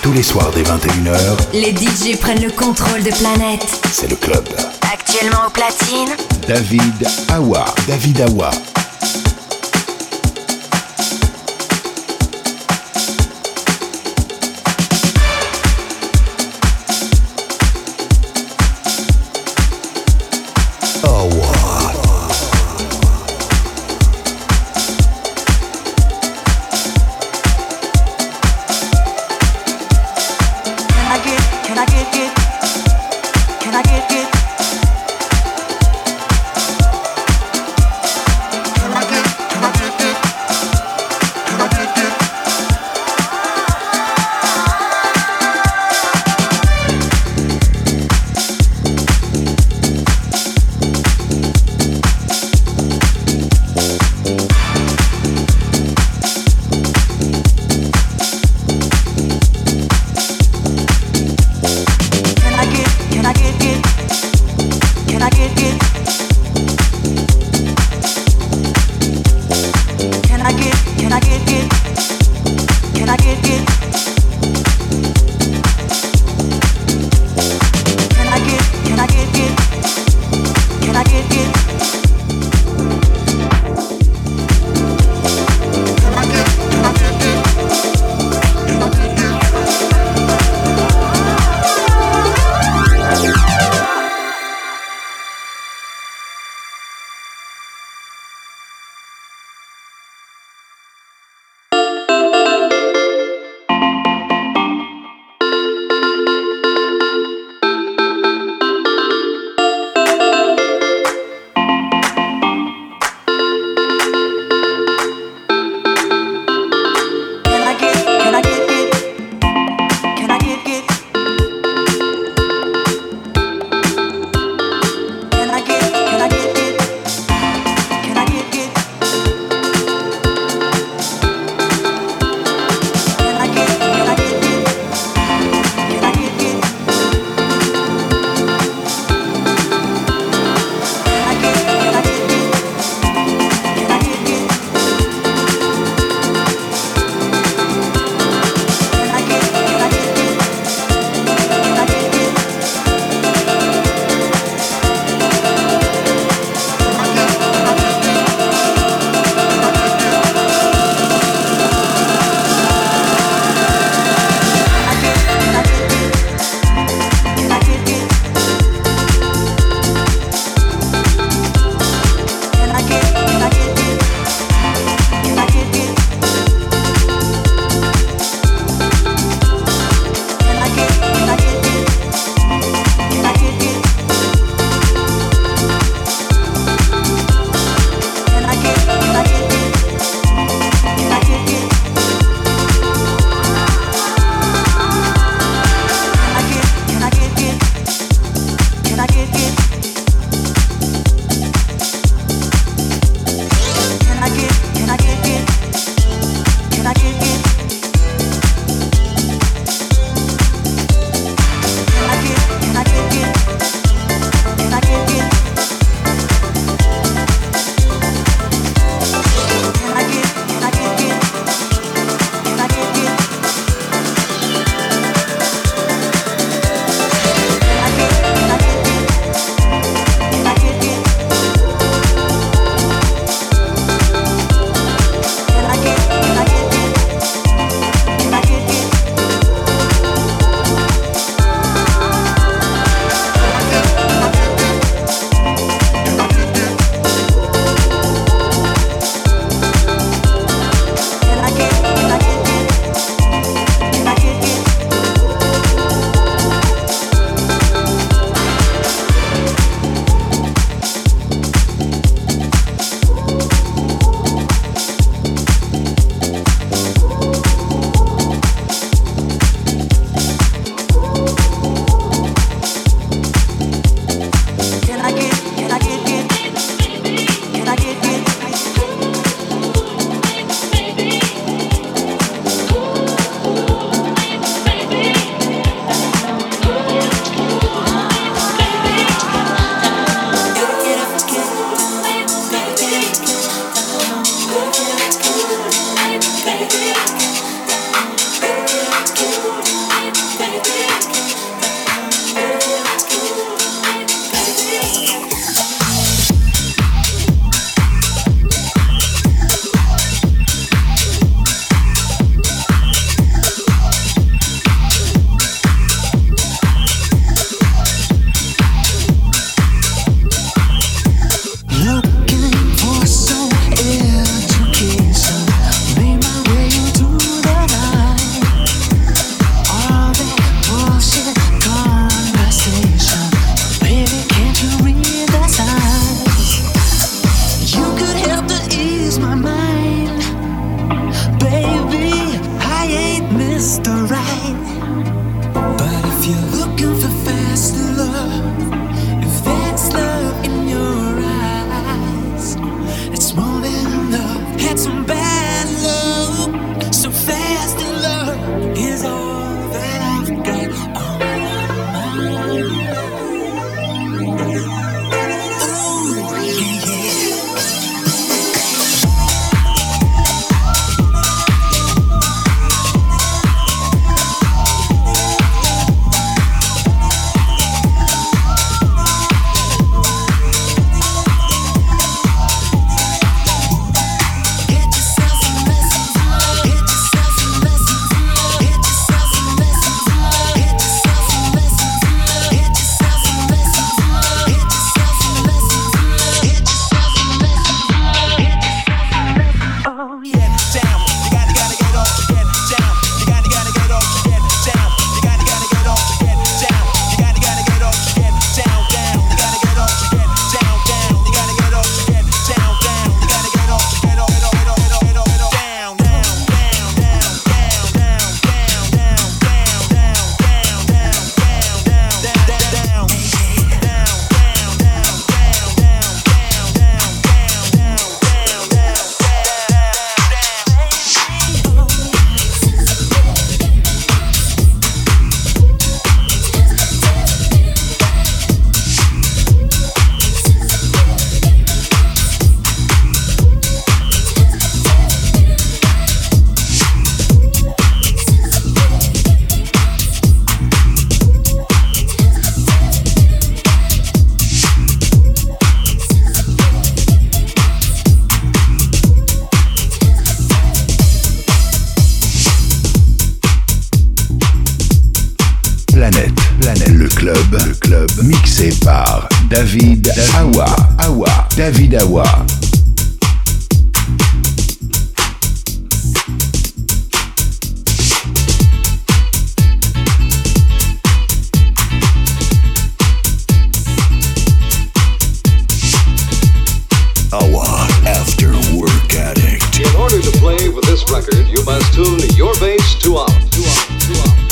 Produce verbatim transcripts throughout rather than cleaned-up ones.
Tous les soirs dès vingt et une heures, les D J prennent le contrôle de Planète. c'est le club. Actuellement au platine, David Awa. David Awa. David Awa, Awa, David Awa. Awa, After Work Addict. In order to play with this record, you must tune your bass to off. To off, to off.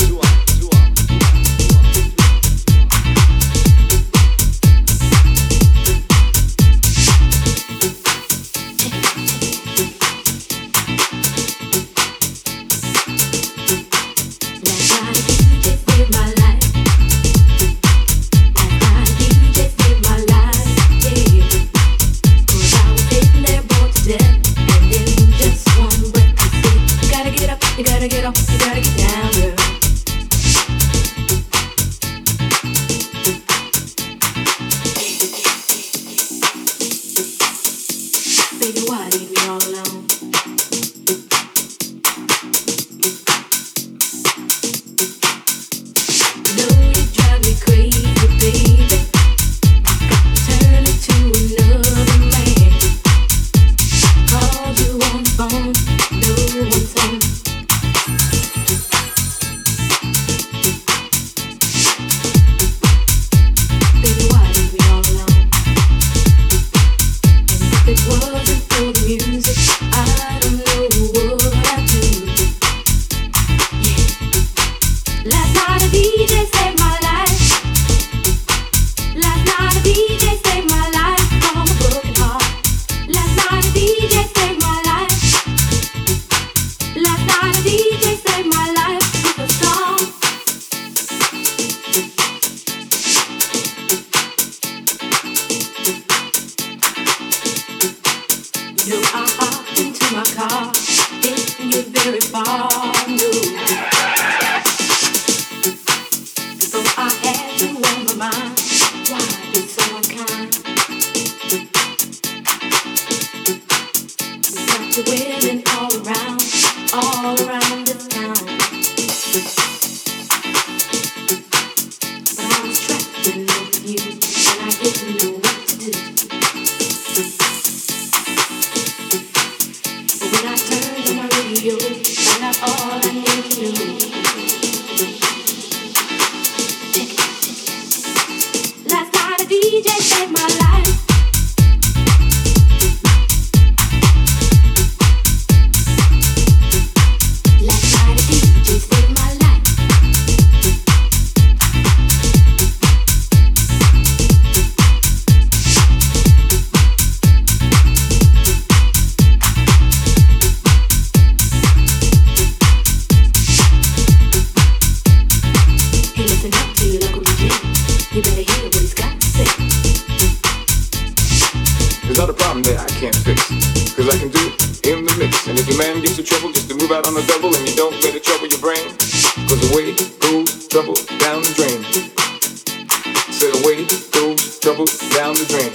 the trouble just to move out on the double, and you don't let it trouble your brain. Cause away goes trouble down the drain. Said away goes trouble down the drain.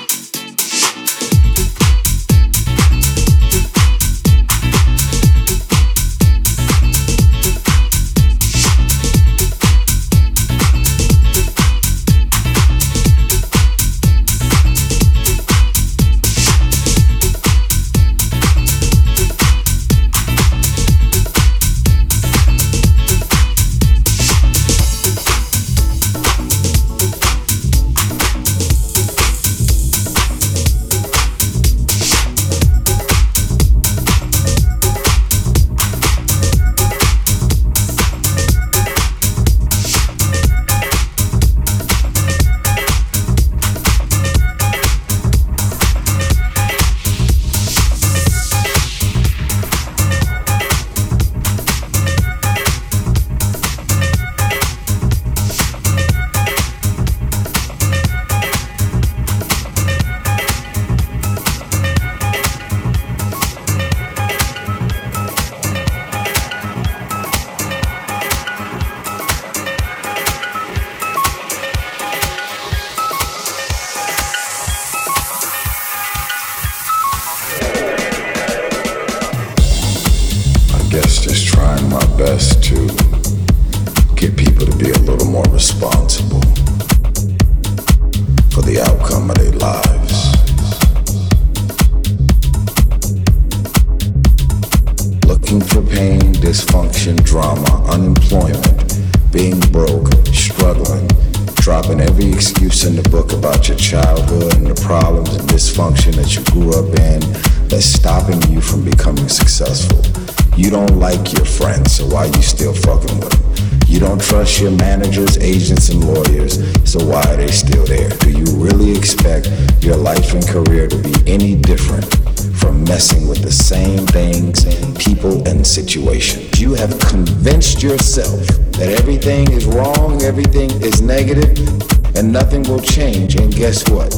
Trust your managers, agents, and lawyers, so why are they still there? Do you really expect your life and career to be any different from messing with the same things, people, and situations? You have convinced yourself that everything is wrong, everything is negative, and nothing will change, and guess what?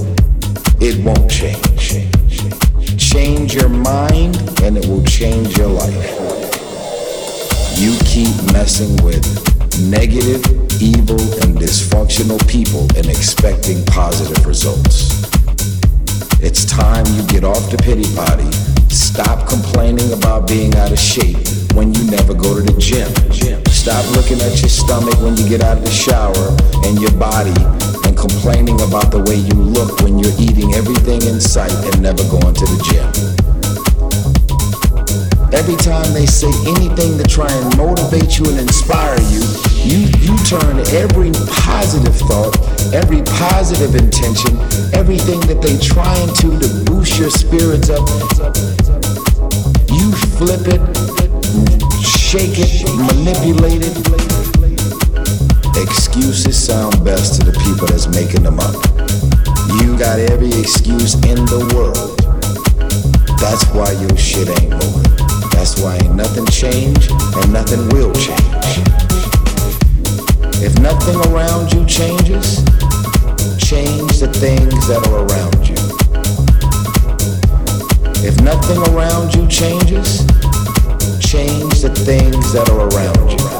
It won't change. Change your mind, and it will change your life. You keep messing with negative, evil, and dysfunctional people and expecting positive results. It's time you get off the pity potty, stop complaining about being out of shape when you never go to the gym. Stop looking at your stomach when you get out of the shower and your body and complaining about the way you look when you're eating everything in sight and never going to the gym. Every time they say anything to try and motivate you and inspire you, you, you turn every positive thought, every positive intention, everything that they trying to to boost your spirits up, you flip it, shake it, manipulate it. Excuses sound best to the people that's making them up. You got every excuse in the world. That's why your shit ain't moving. That's why ain't nothing changed and nothing will change. If nothing around you changes, change the things that are around you. If nothing around you changes, change the things that are around you.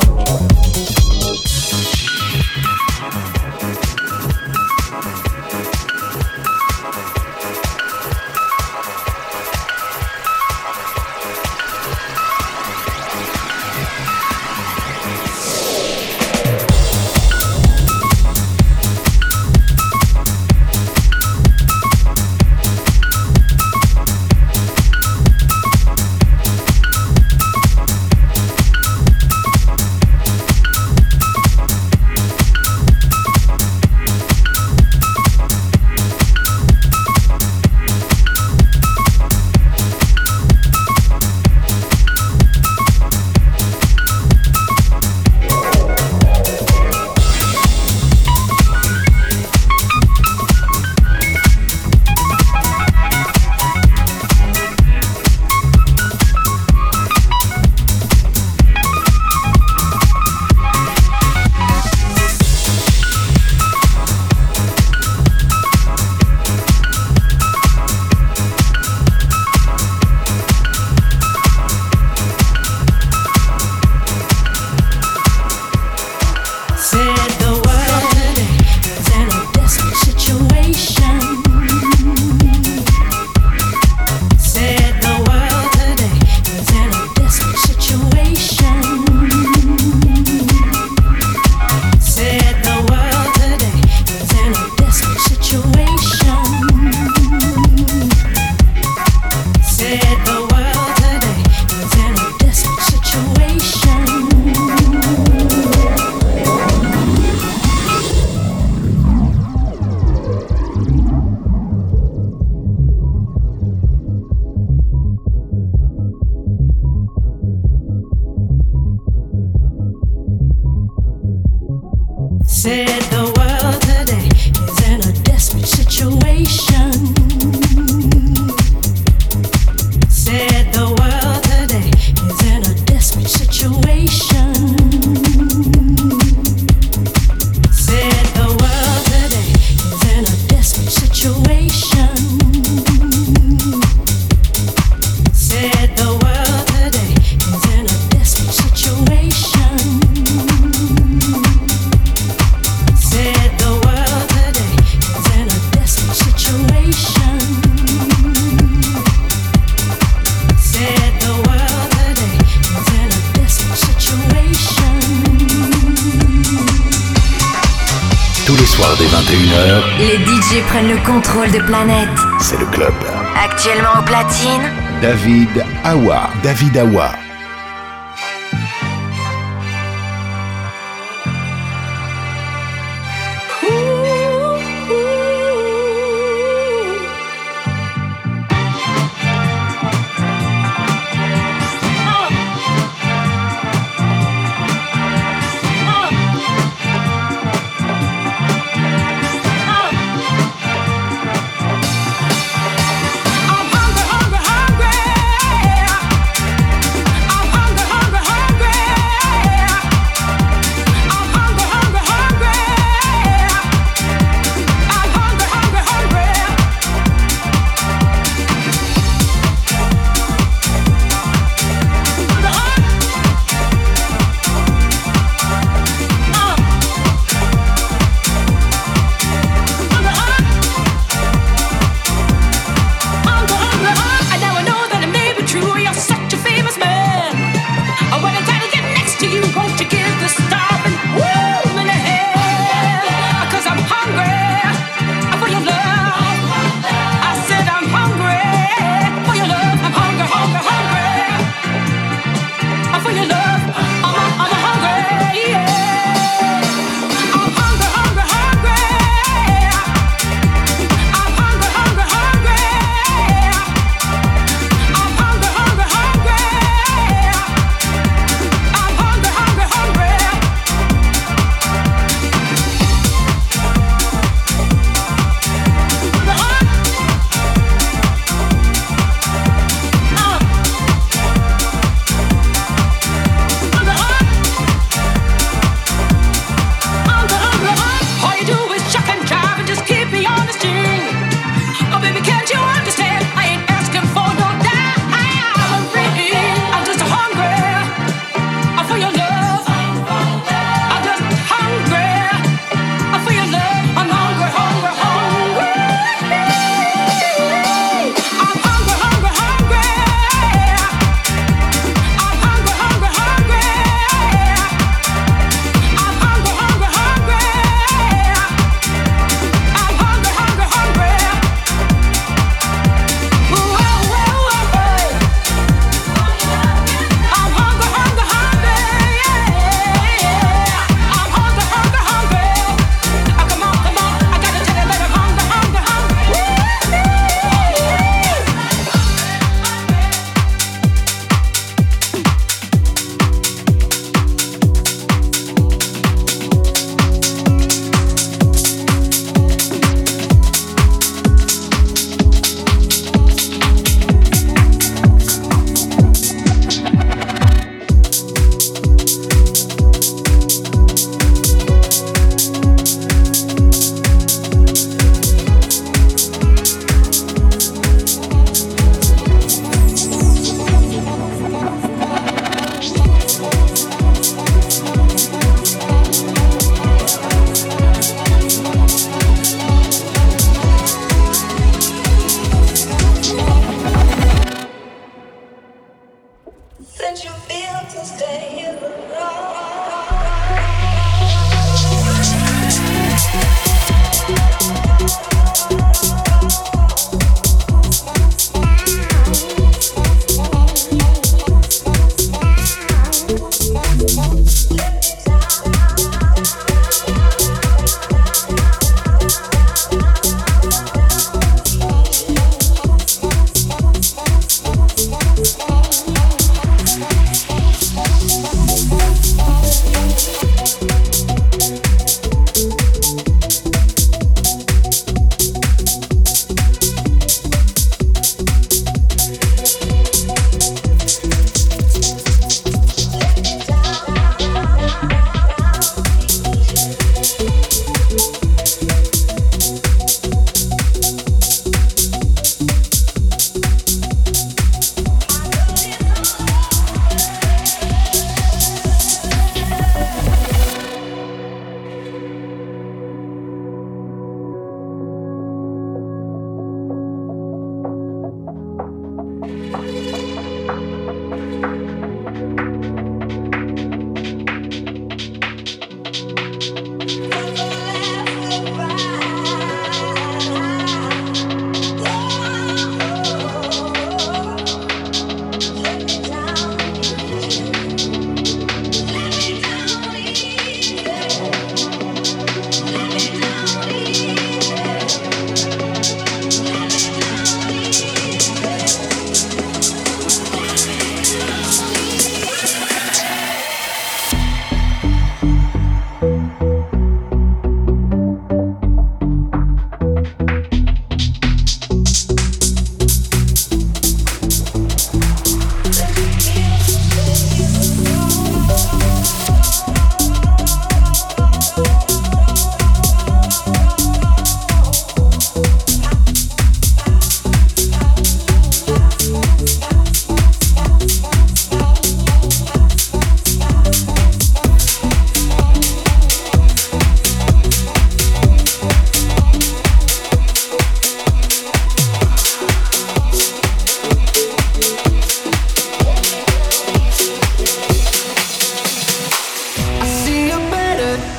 Les D J prennent le contrôle de Planète. C'est le club. Actuellement au platine, David Awa. David Awa.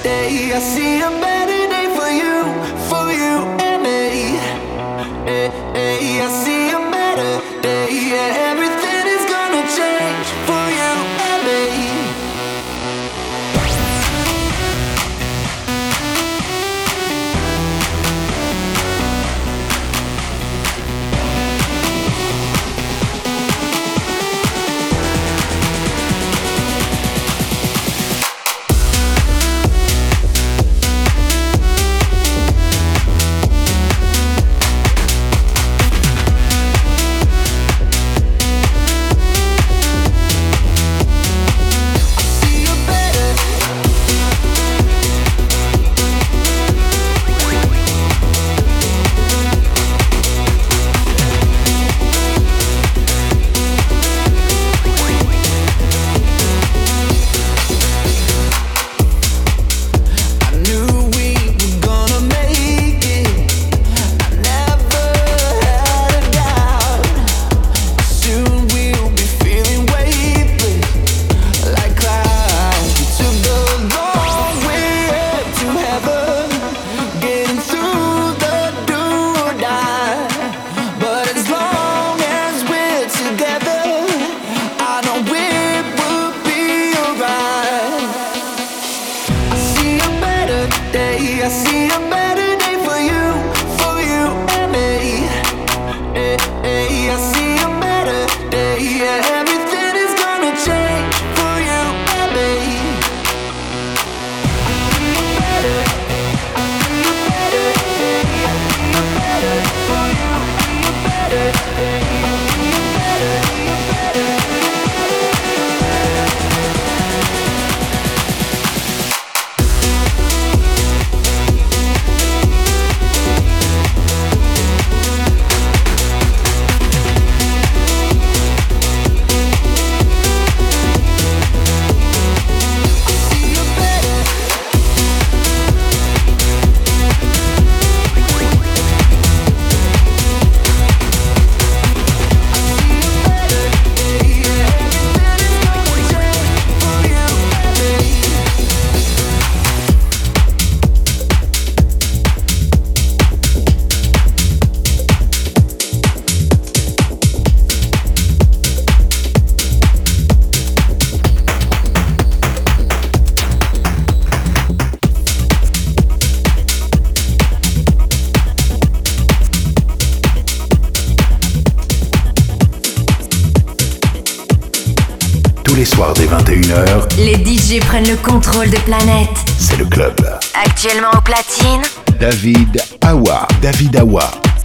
day. I see a better day for you, for you and me. Hey, hey, I see a better day. Yeah, everything is gonna change for you and me. Les soirs dès vingt et une heures, les D J prennent le contrôle de Planète. C'est le club. Actuellement au platine, David Awa. David Awa.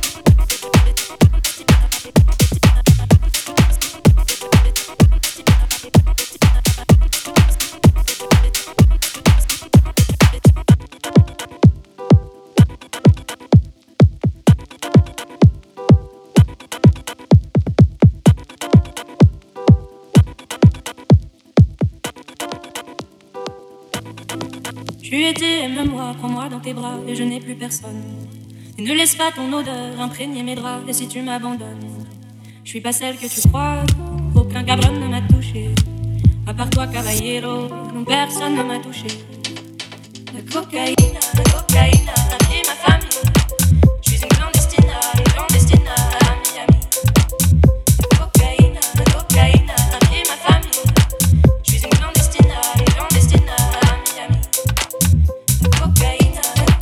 Tu étais, aime-moi, prends-moi dans tes bras et je n'ai plus personne. Et ne laisse pas ton odeur imprégner mes draps. Et si tu m'abandonnes, je suis pas celle que tu crois. Aucun cabron ne m'a touché. À part toi, caballero, non, personne ne m'a touché. La cocaïne, la cocaïne a pris ma famille. Je suis une clandestine, une clandestine à Miami. La cocaïne, la cocaïne a pris ma famille. Je suis une clandestine, une clandestine à Miami. La cocaïne.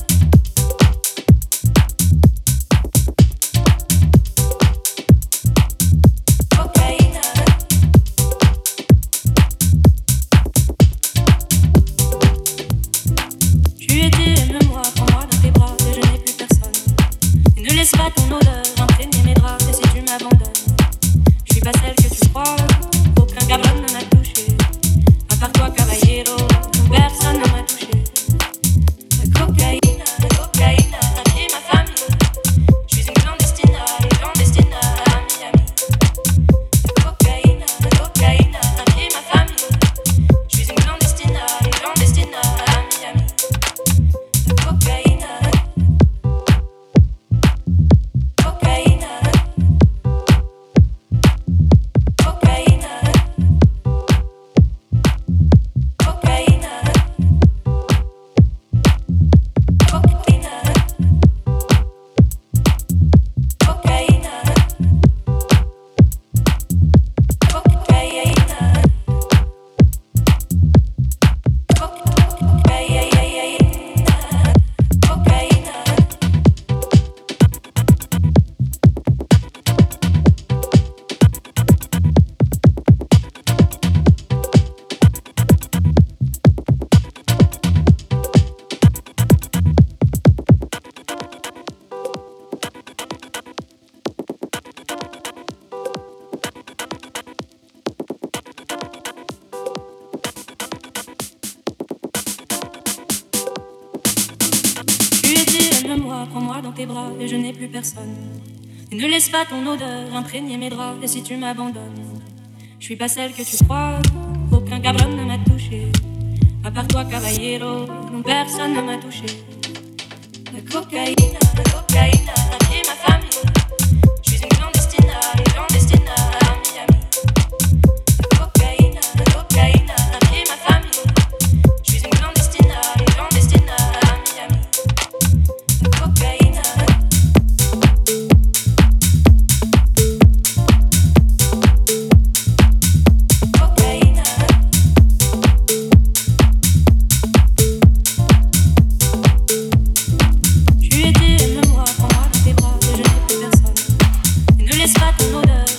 Cocaïne. Tu étais, aime-moi, prends-moi dans tes bras et je n'ai plus personne. Et ne laisse pas ton odeur imprégner mes draps. Et si tu m'abandonnes, je suis pas celle que tu crois. Aucun cabron ne m'a touché. À part toi, caballero, personne ne m'a touché. La cocaïne, la cocaïne a pris ma famille. Je suis une clandestine, une clandestine à Miami. La cocaïne, la cocaïne a pris ma famille. Je suis une clandestine, une clandestine à Miami. La cocaïne. moi, prends-moi dans tes bras et je n'ai plus personne. Et ne laisse pas ton odeur imprégner mes draps. Et si tu m'abandonnes, je suis pas celle que tu crois. Aucun cabron ne m'a touché. À part toi, caballero, non, personne ne m'a touché. La cocaïne, la cocaïne a pied ma famille. Je suis une clandestine, une clandestine à Miami. La cocaïne, la cocaïne a pied ma famille. Je suis une clandestine, une clandestine à Miami. La cocaïne. Laisse pas ton odeur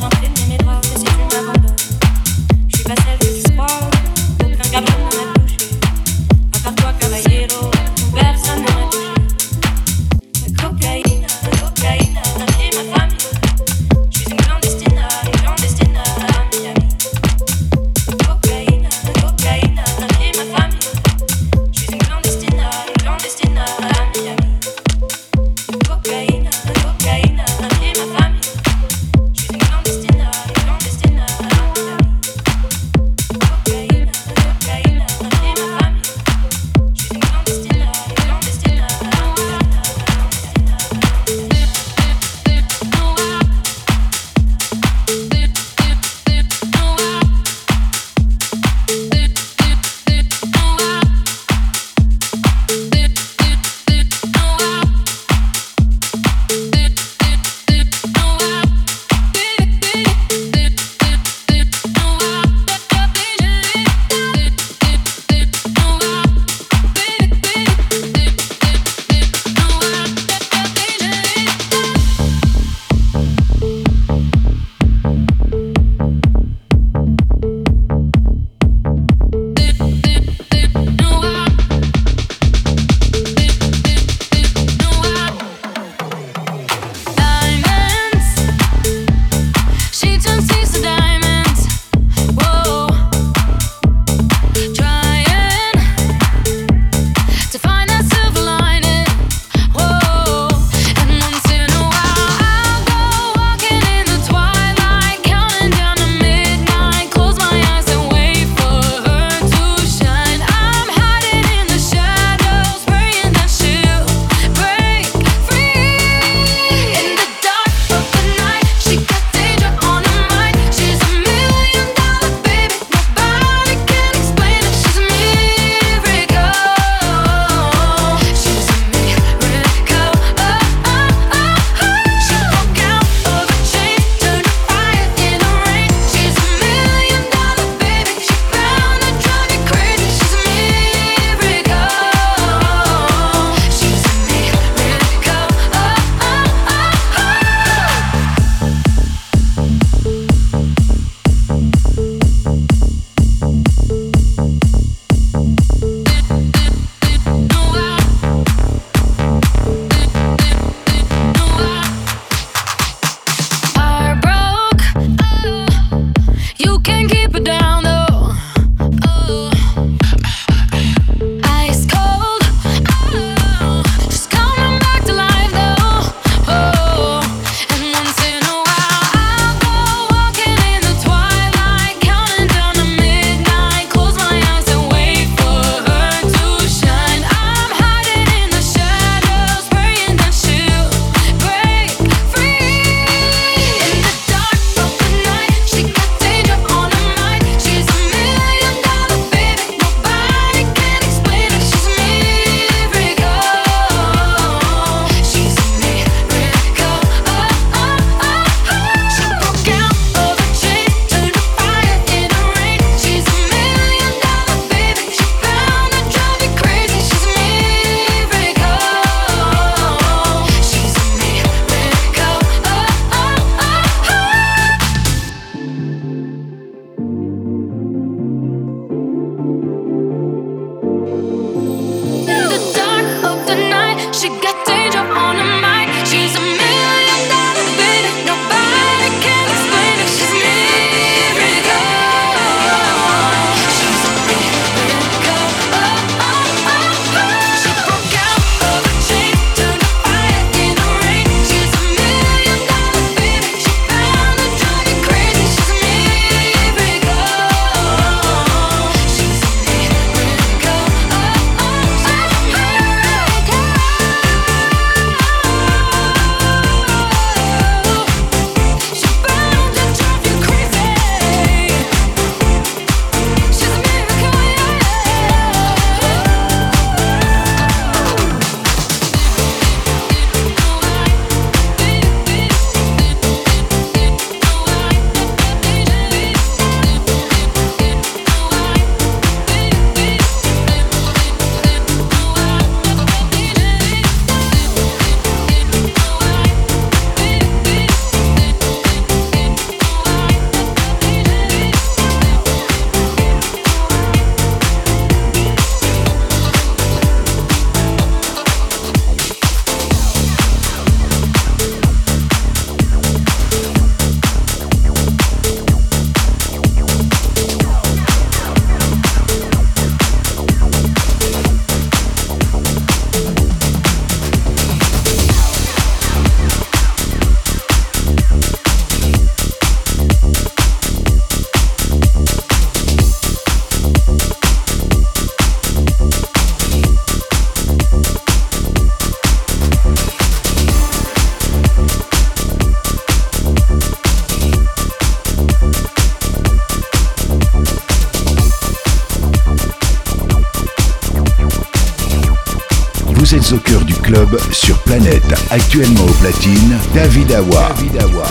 Vous êtes au cœur du club sur Planète. Actuellement au platine, David Awa. David Awa.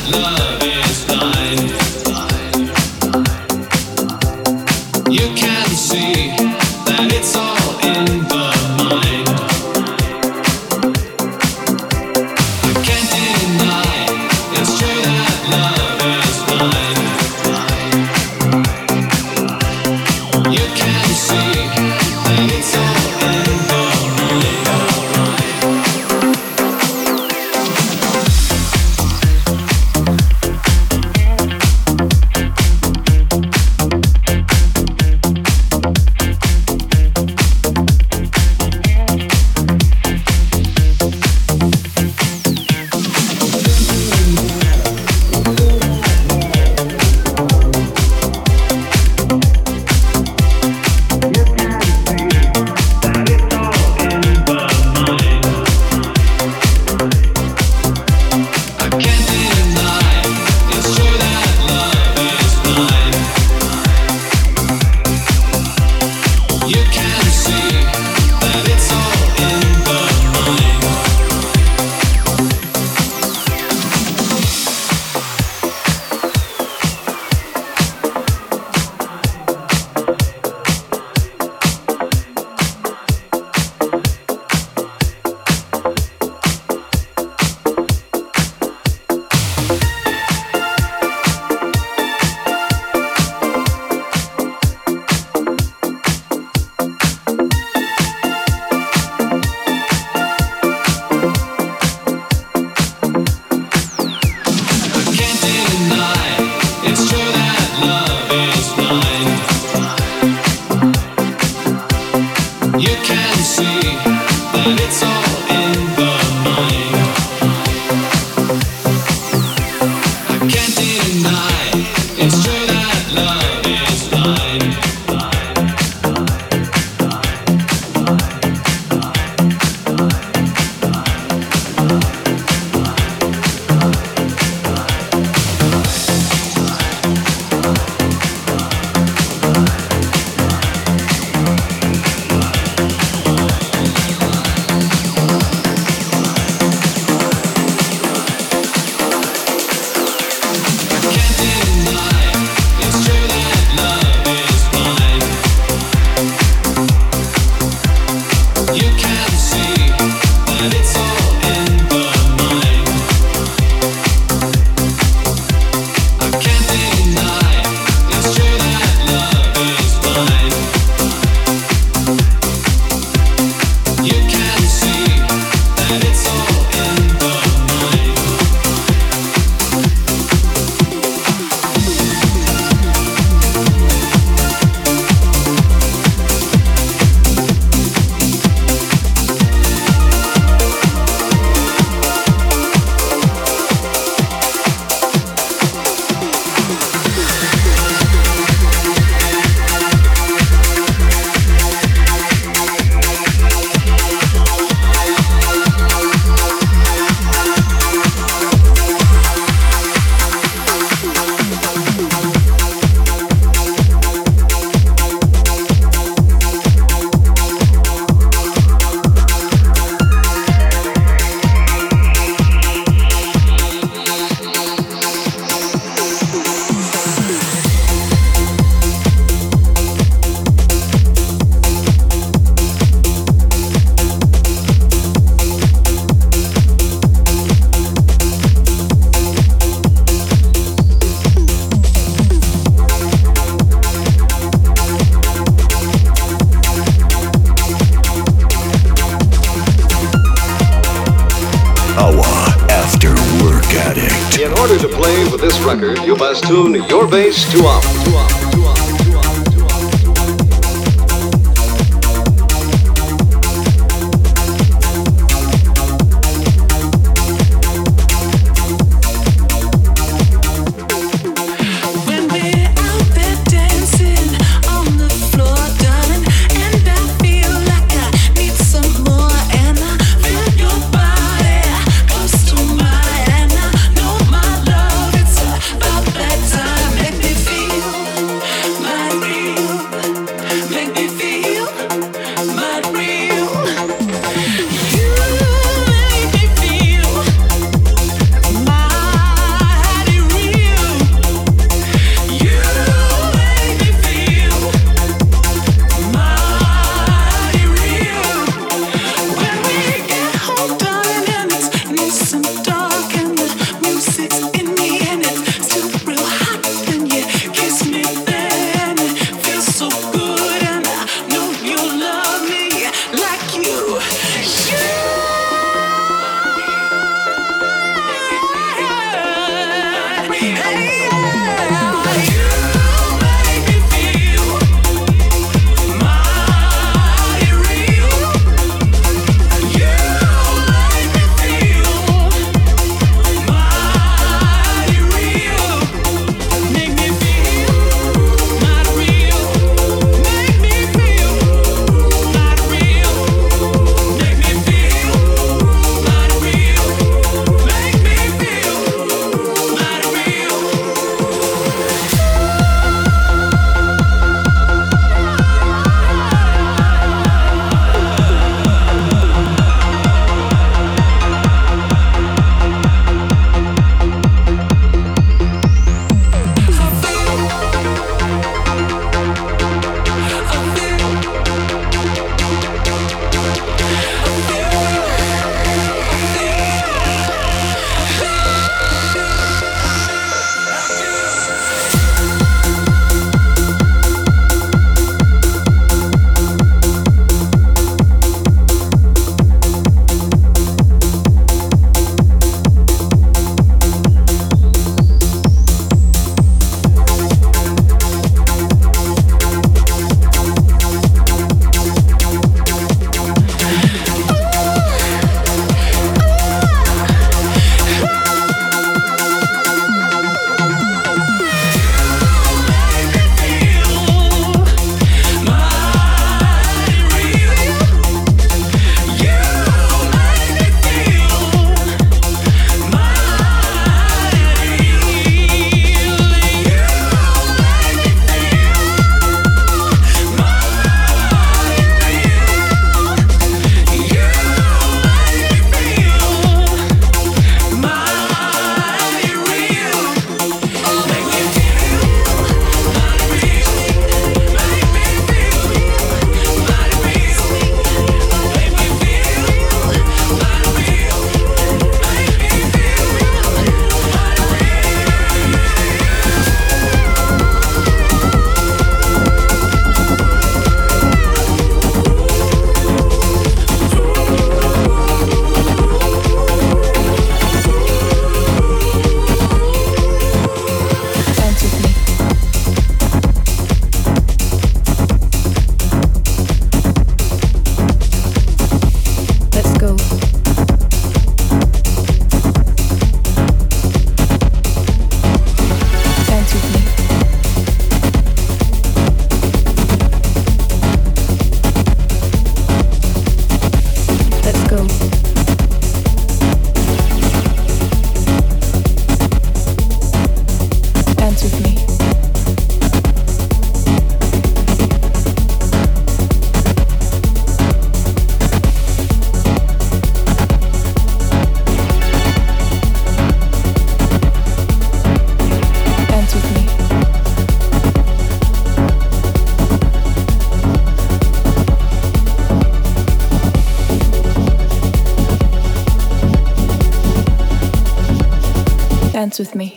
In order to play with this record, you must tune your bass to off. To off. Feel with me.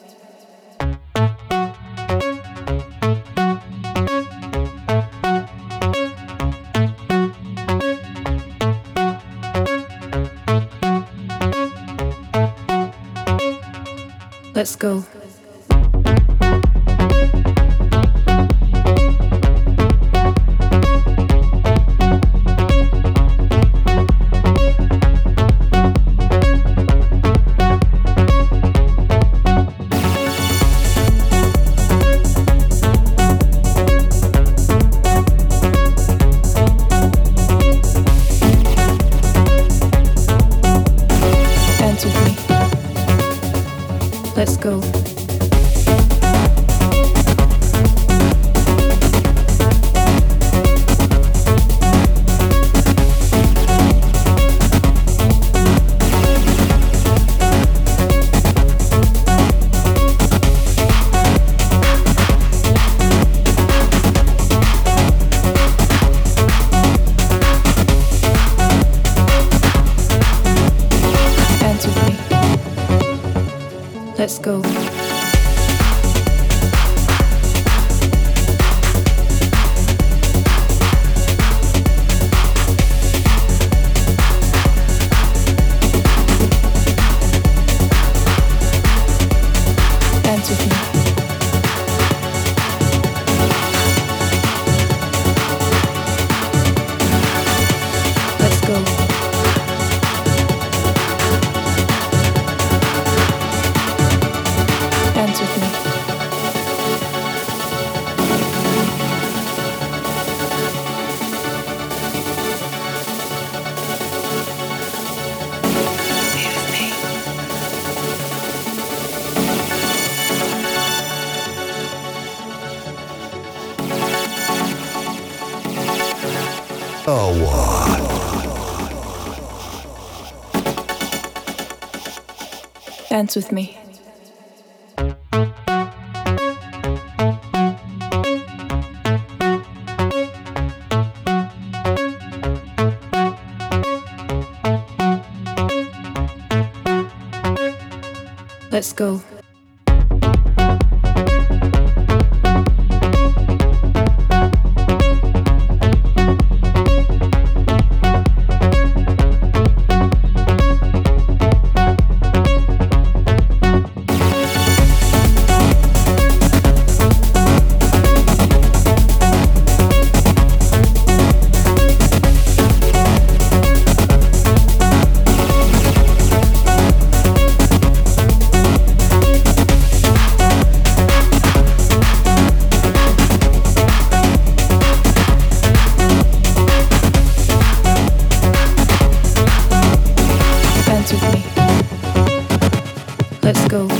Let's go. Dance with me. Let's go. Dance with me. Let's go. Dance with me. Let's go. Dance with me. Awa. Dance with me. Let's go. Dance with me. Let's go.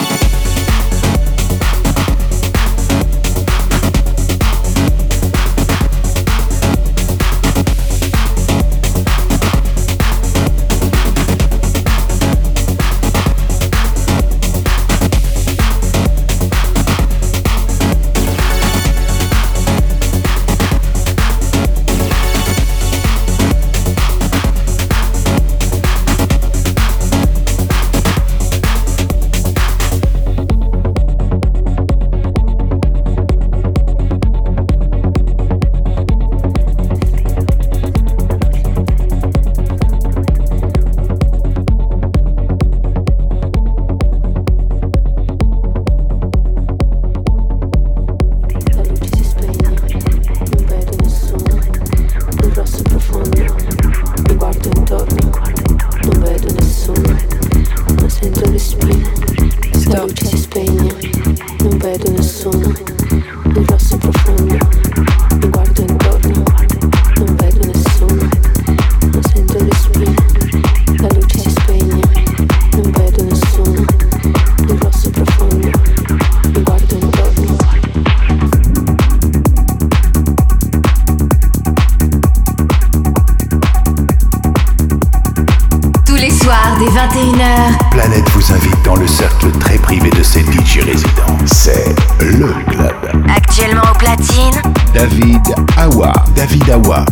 Dès vingt et une heures, Planète vous invite dans le cercle très privé de ses D J résidents. C'est le club. actuellement au platine, David Awa. David Awa.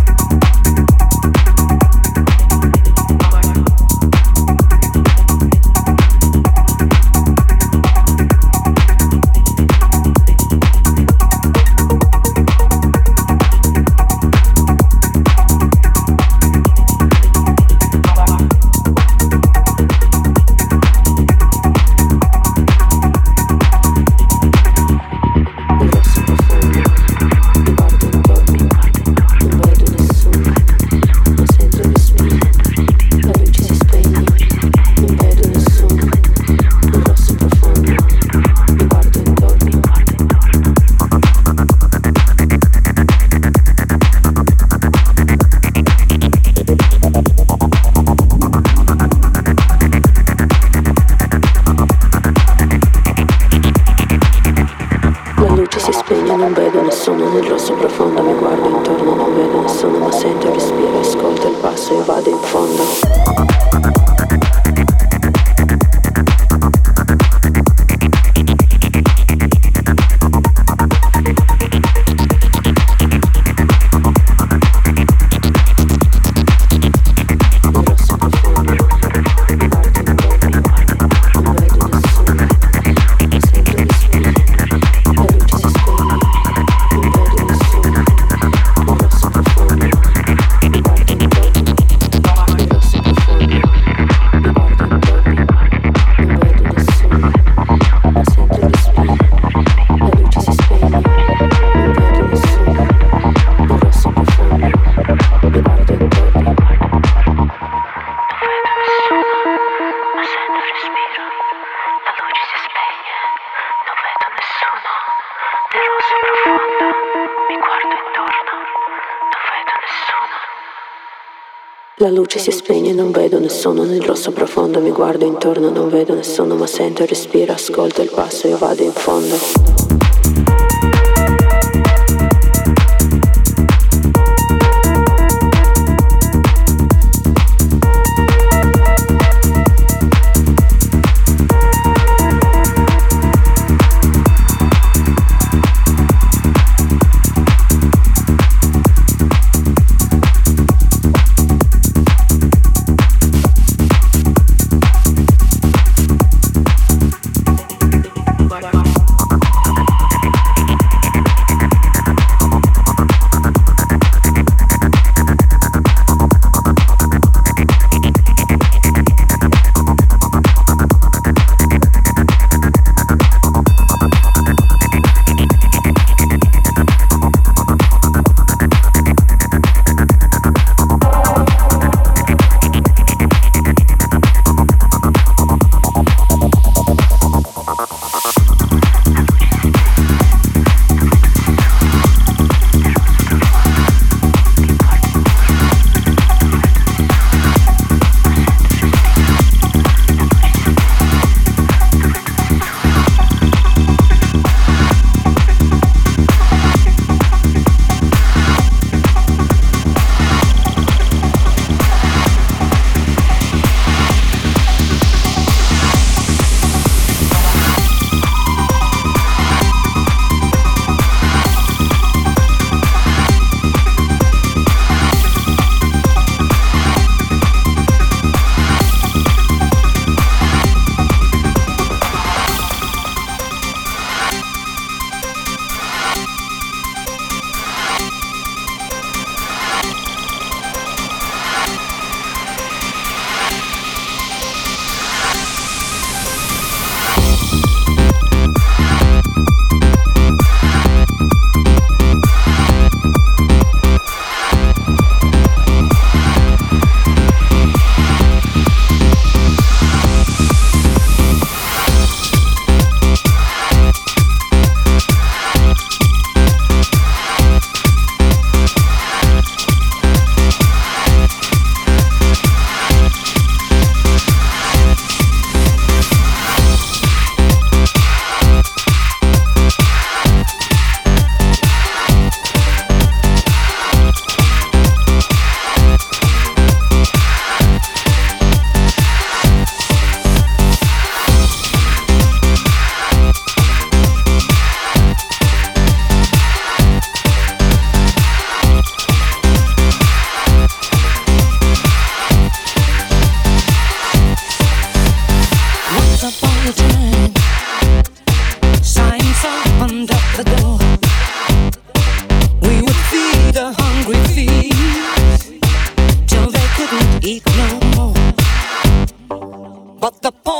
Non vedo nessuno nel rosso profondo, mi guardo intorno, non vedo nessuno, ma sento il respiro, ascolto il passo e vado in fondo. La luce si spegne, non vedo nessuno nel rosso profondo, mi guardo intorno, non vedo nessuno, ma sento il respiro, ascolto il passo e vado in fondo.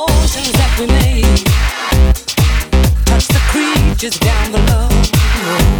we made touch the creatures down below.